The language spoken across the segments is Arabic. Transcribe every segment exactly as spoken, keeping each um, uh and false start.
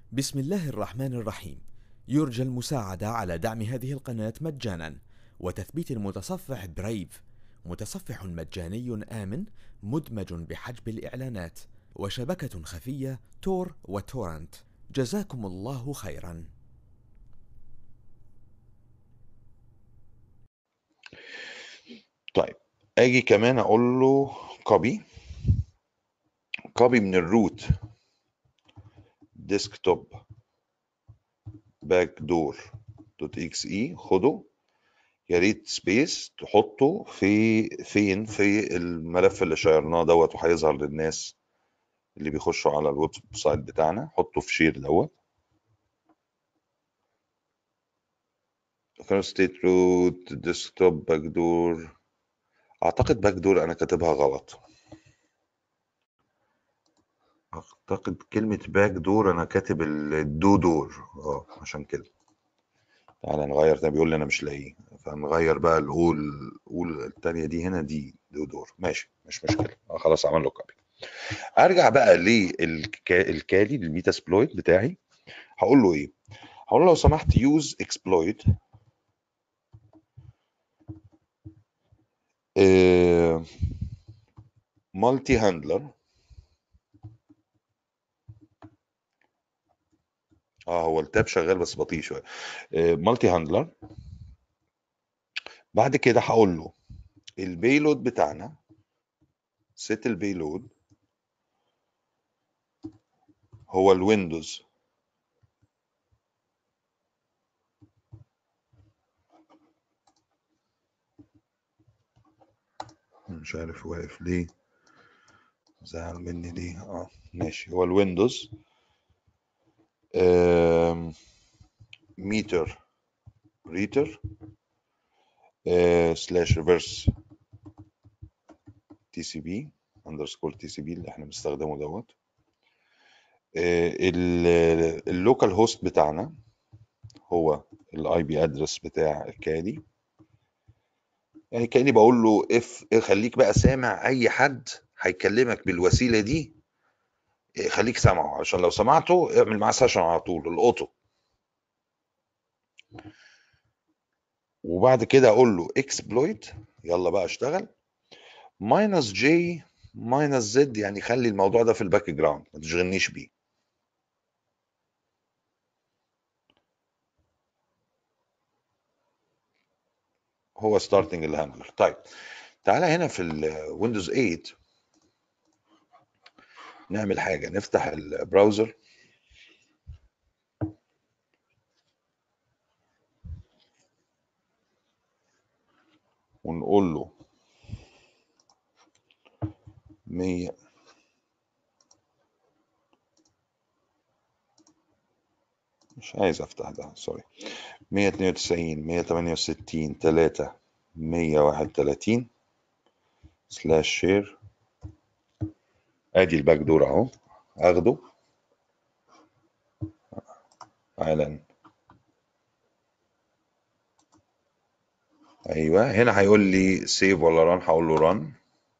بسم الله الرحمن الرحيم. يرجى المساعدة على دعم هذه القناة مجانا وتثبيت المتصفح برايف، متصفح مجاني آمن مدمج بحجب الإعلانات وشبكة خفية تور وتورنت. جزاكم الله خيرا. طيب اجي كمان اقول له كوبي كوبي من الروت ديسكتوب باك دور دوت اكس اي، خده يا ريت سبيس تحطه في فين في الملف اللي شيرناه دوت، وهيظهر للناس اللي بيخشوا على الويب سايت بتاعنا. حطه في شير دوت كان ستيت روت ديسكتوب باك دور. اعتقد باك دور انا كاتبها غلط، اعتقد كلمة باك دور انا كاتب الدو دور، اه عشان كده. تعالى نغير تاني، بيقول لي انا مش لاقيه، فنغير بقى الاول. قول التانية دي هنا دي دو دور، ماشي مش مشكلة. آه خلاص عمل له كوبي. ارجع بقى للكالي للميتا سبلويت بتاعي. هقول له ايه؟ هقول له لو سمحت يوز اكسبلويت مالتي هاندلر. اه هو التاب شغال بس بطيء شويه. مالتي هاندلر. بعد كده هقول له البيلود بتاعنا، سيت البيلود هو الويندوز. مش عارف واقف ليه، زعل مني ليه. اه ماشي، هو الويندوز ميتر ريتر سلاش ريفرس تي سي بي اندرسكور تي سي بي اللي احنا بنستخدمه دوت. اللوكال هوست بتاعنا هو الاي بي ادرس بتاع الكالي. يعني كاني بقول له اف خليك بقى سامع اي حد هيكلمك بالوسيله دي، خليك سامعه عشان لو سمعته اعمل معاه سيشن على طول الاوتو. وبعد كده اقول له اكسبلويت، يلا بقى اشتغل. ماينس جي ماينس زد، يعني خلي الموضوع ده في الباك جراوند ما تشغلنيش بيه. هو ستارتنج الهاندلر. طيب تعالى هنا في الويندوز ثمانية نعمل حاجه، نفتح البراوزر ونقول له مية مش عايز افتح ده، سوري. مية اتنين وتسعين مية تمانية وستين تلاتة مية واحد وتلاتين سلاش شير. ادي الباك دور اهو، اخده على ايوه. هنا هيقول لي سيف ولا ران، هقول له ران.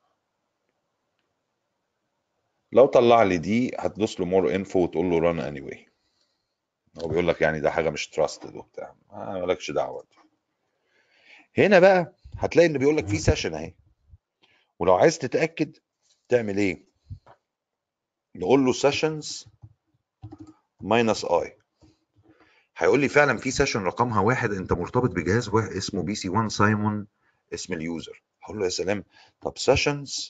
لو طلع لي دي هتدوس له مور انفو وتقول له ران اني واي. هو بيقول لك يعني ده حاجه مش تراستد وبتاع، ما مالكش دعوه. هنا بقى هتلاقي اللي بيقول لك في سيشن اهي، ولو عايز تتاكد تعمل ايه؟ نقول له سيشنز ماينس اي. هيقول لي فعلا في سيشن رقمها واحد، انت مرتبط بجهاز واحد اسمه بي سي واحد سايمون اسم اليوزر. هقول له يا سلام، طب سيشنز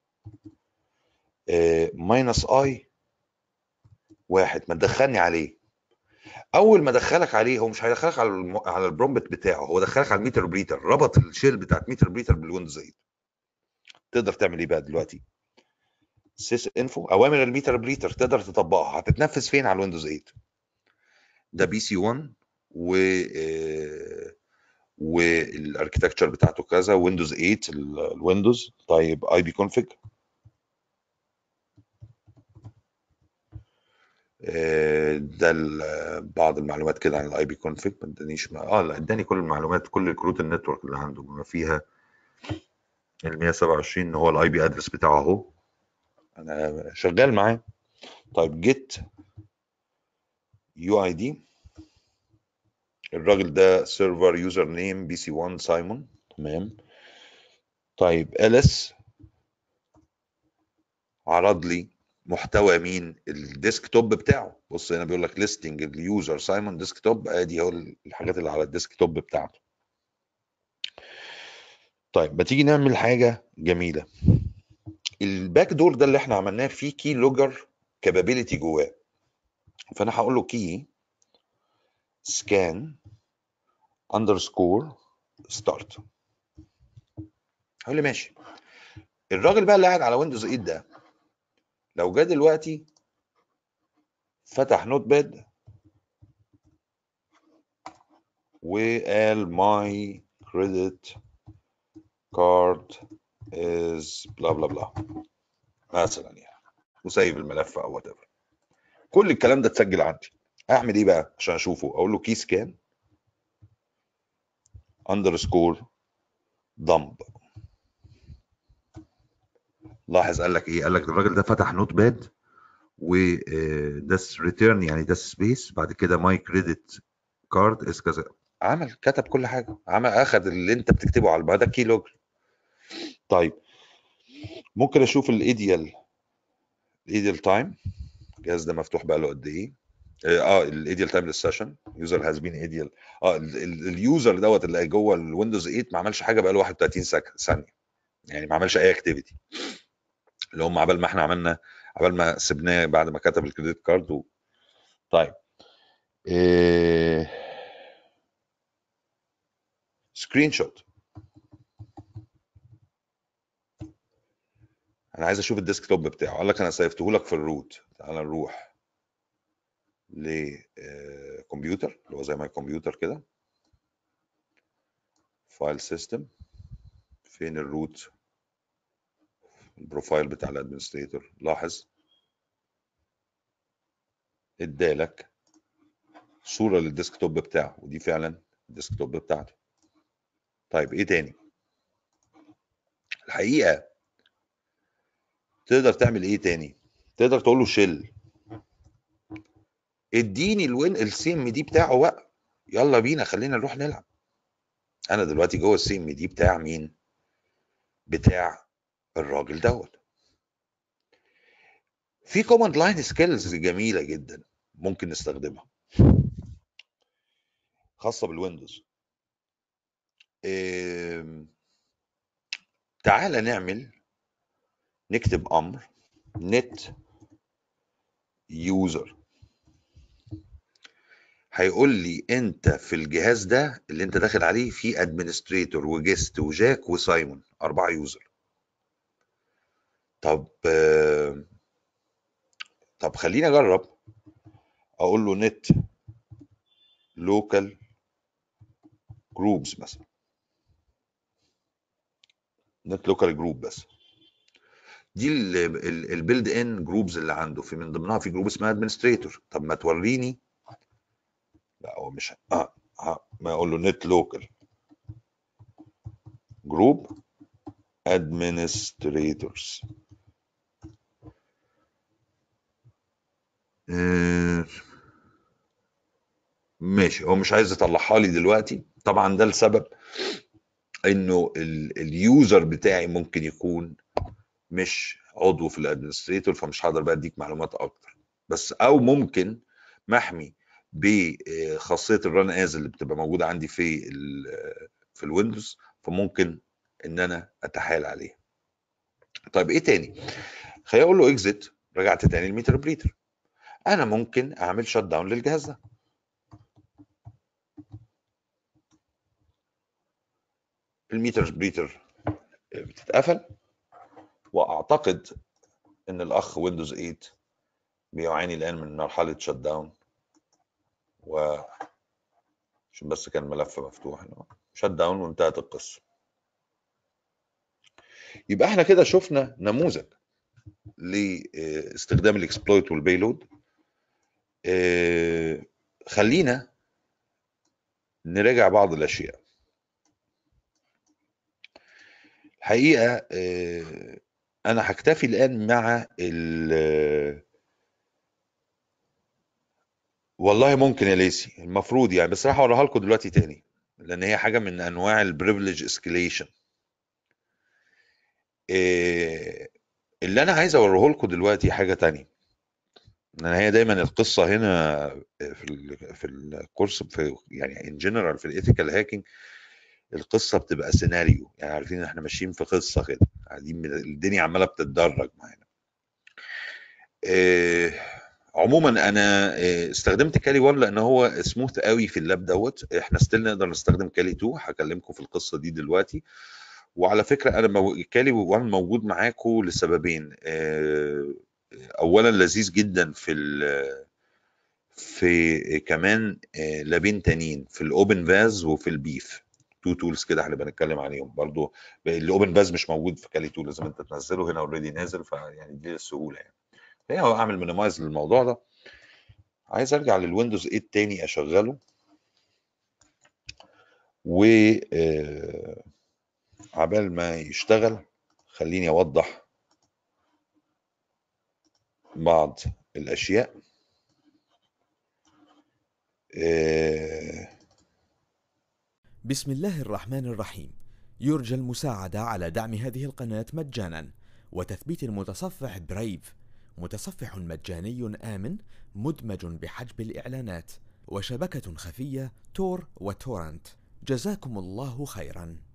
ماينس اي واحد ما تدخلني عليه. اول ما دخلك عليه هو مش هيدخلك على الم... على البرومبت بتاعه، هو دخلك على الميتر بريتر، ربط الشيل بتاعت ميتر بريتر بالويندوز ثمانية. تقدر تعمل ايه بقى دلوقتي؟ سيس انفو اوامر الميتر بريتر تقدر تطبقها، هتتنفذ فين؟ على الويندوز ثمانية. ده بي سي واحد و آه، والاركتكتشر بتاعته كذا ويندوز ثمانية الويندوز. طيب اي بي كونفيج، ده بعض المعلومات كده عن الاي بي كونفيج. ما ادانيش اه لا اداني كل المعلومات، كل كروت النتورك اللي عنده بما فيها ال مية وسبعة وعشرين ان هو الاي بي ادرس بتاعه اهو، انا شغال معاه. طيب جيت يو اي دي، الراجل ده سيرفر يوزر نيم بي سي واحد سايمون. تمام. طيب اليس عرض لي محتوى مين؟ الديسك توب بتاعه. بص هنا بيقول لك ليستنج اليوزر سايمون ديسك توب، ادي هو الحاجات اللي على الديسك توب بتاعته. طيب ما تيجي نعمل حاجه جميله. الباك دور ده اللي احنا عملناه فيه كي لوجر كابابيلتي جواه، فانا هقول له كي سكان اندرسكور ستارت. هقول لي ماشي. الراجل بقى اللي قاعد على ويندوز ثمانية ده لو جه دلوقتي فتح نوت باد وقال ماي كريدت كارد از بلا بلا بلا مثلا يعني، وسايب الملف او وات ايفر، كل الكلام ده اتسجل عندي. اعمل ايه بقى عشان اشوفه؟ اقول له كي سكان اندرسكور دمب. لاحظ قال لك ايه؟ قال لك الراجل ده فتح نوت باد وده ريتيرن، يعني ده سبيس، بعد كده ماي كريدت كارد از كذا، عمل كتب كل حاجه، عمل اخذ اللي انت بتكتبه على ده كي لوج. طيب ممكن اشوف الايديال الايديال تايم، الجهاز ده مفتوح بقى له قد ايه؟ اه الايديال تايم للسيشن يوزر هاز بين ايديال. اه اليوزر دوت اللي جوه الويندوز ثمانية ما عملش حاجه بقى له واحد وثلاثين ثانيه، يعني ما عملش اي اكتيفيتي، اللي هم عبال ما احنا عملنا، عبال ما سبناه بعد ما كتب الكريدت كارد و... طيب إيه... سكرين شوت. انا عايز اشوف الديسك توب بتاعه. قال لك انا سيفته لك في الروت. تعال نروح لكمبيوتر اللي هو زي ما الكمبيوتر كده، فايل سيستم، فين الروت؟ البروفايل بتاع الادمنستريتور. لاحظ ادالك صوره للديسك توب بتاعه، ودي فعلا الديسك توب بتاعته. طيب ايه تاني؟ الحقيقه تقدر تعمل ايه تاني؟ تقدر تقول له شيل اديني الوين السي ام دي بتاعه بقى، يلا بينا خلينا نروح نلعب. انا دلوقتي جوه السي ام دي بتاع مين؟ بتاع الراجل دوت. في كوماند لاين سكيلز جميله جدا ممكن نستخدمها خاصه بالويندوز. إيه... تعالى نعمل نكتب امر نت يوزر، هيقول لي انت في الجهاز ده اللي انت داخل عليه في ادمنستريتور وجيست وجاك وسايمون، اربعه يوزر. طب آه... طب خليني اجرب، اقول له نت لوكال جروبز مثلا، نت لوكال جروب بس. دي البيلد ان جروبز اللي عنده، في من ضمنها في جروب اسمها ادمنستريتور. طب ما توريني، لا هو مش اه, آه. ما اقول له نت لوكال جروب ادمنستريتورز. آه ماشي، هو مش عايز يطلعها لي دلوقتي طبعا، ده السبب انه اليوزر بتاعي ممكن يكون مش عضو في الادمنستريتور، فمش هقدر بقى اديك معلومات اكتر. بس او ممكن محمي بخاصيه الران از اللي بتبقى موجوده عندي في ال في الويندوز، فممكن ان انا اتحايل عليه. طيب ايه تاني؟ خليني اقول له اكزيت، رجعت تاني الميتر بريتر. انا ممكن اعمل شت داون للجهاز ده. الميتر بريتر بتتقفل، واعتقد ان الاخ ويندوز ثمانية بيعاني الان من مرحله شت داون، و عشان بس كان الملف مفتوح شت داون وانتهت القصه. يبقى احنا كده شفنا نموذج لاستخدام الاكسبلويت والبيلود. خلينا نراجع بعض الاشياء. الحقيقه انا هكتفي الان مع ال والله ممكن يا ليسي، المفروض يعني، بس راح اوريها لكم دلوقتي تاني لان هي حاجه من انواع البريفليج اسكيليشن. اللي انا عايز اوريه لكم دلوقتي حاجه تانية. ان هي دايما القصه هنا في ال في الكورس، في يعني ان جنرال في الايثيكال هاكينج، القصه بتبقى سيناريو، يعني عارفين ان احنا ماشيين في قصه كده، قاعدين الدنيا عماله بتتدرج معانا. إيه، عموما انا إيه استخدمت كالي واحد لان هو سموث قوي في اللاب دوت. احنا ستيل نقدر نستخدم كالي اتنين، هكلمكم في القصه دي دلوقتي. وعلى فكره انا مو... كالي واحد موجود معاكم لسببين. إيه، اولا لذيذ جدا في ال... في كمان إيه لابين تانيين في الاوبن فاز وفي البيف. تو تولز كده هنبقى نتكلم عليهم برضو. الاوبن فاز مش موجود في كالي اتنين، لازم انت تنزله، هنا اوريدي نازل، فيعني دي السهوله يعني. هي اعمل مينيمايز للموضوع ده. عايز ارجع للويندوز تمانية تاني اشغله، و آه، عبال ما يشتغل خليني اوضح بعض الاشياء. آه، بسم الله الرحمن الرحيم. يرجى المساعدة على دعم هذه القناة مجانا وتثبيت المتصفح برايف، متصفح مجاني آمن مدمج بحجب الإعلانات وشبكة خفية تور وتورنت. جزاكم الله خيرا.